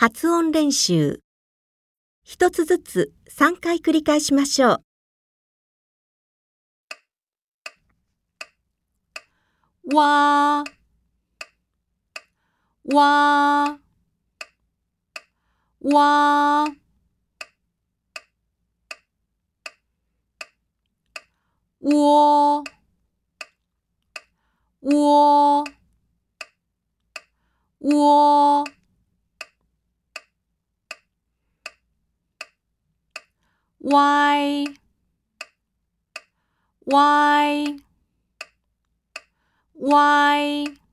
発音練習。一つずつ3回繰り返しましょう。わー、わー、わー、おー、おー、おー、わい、わい、わい。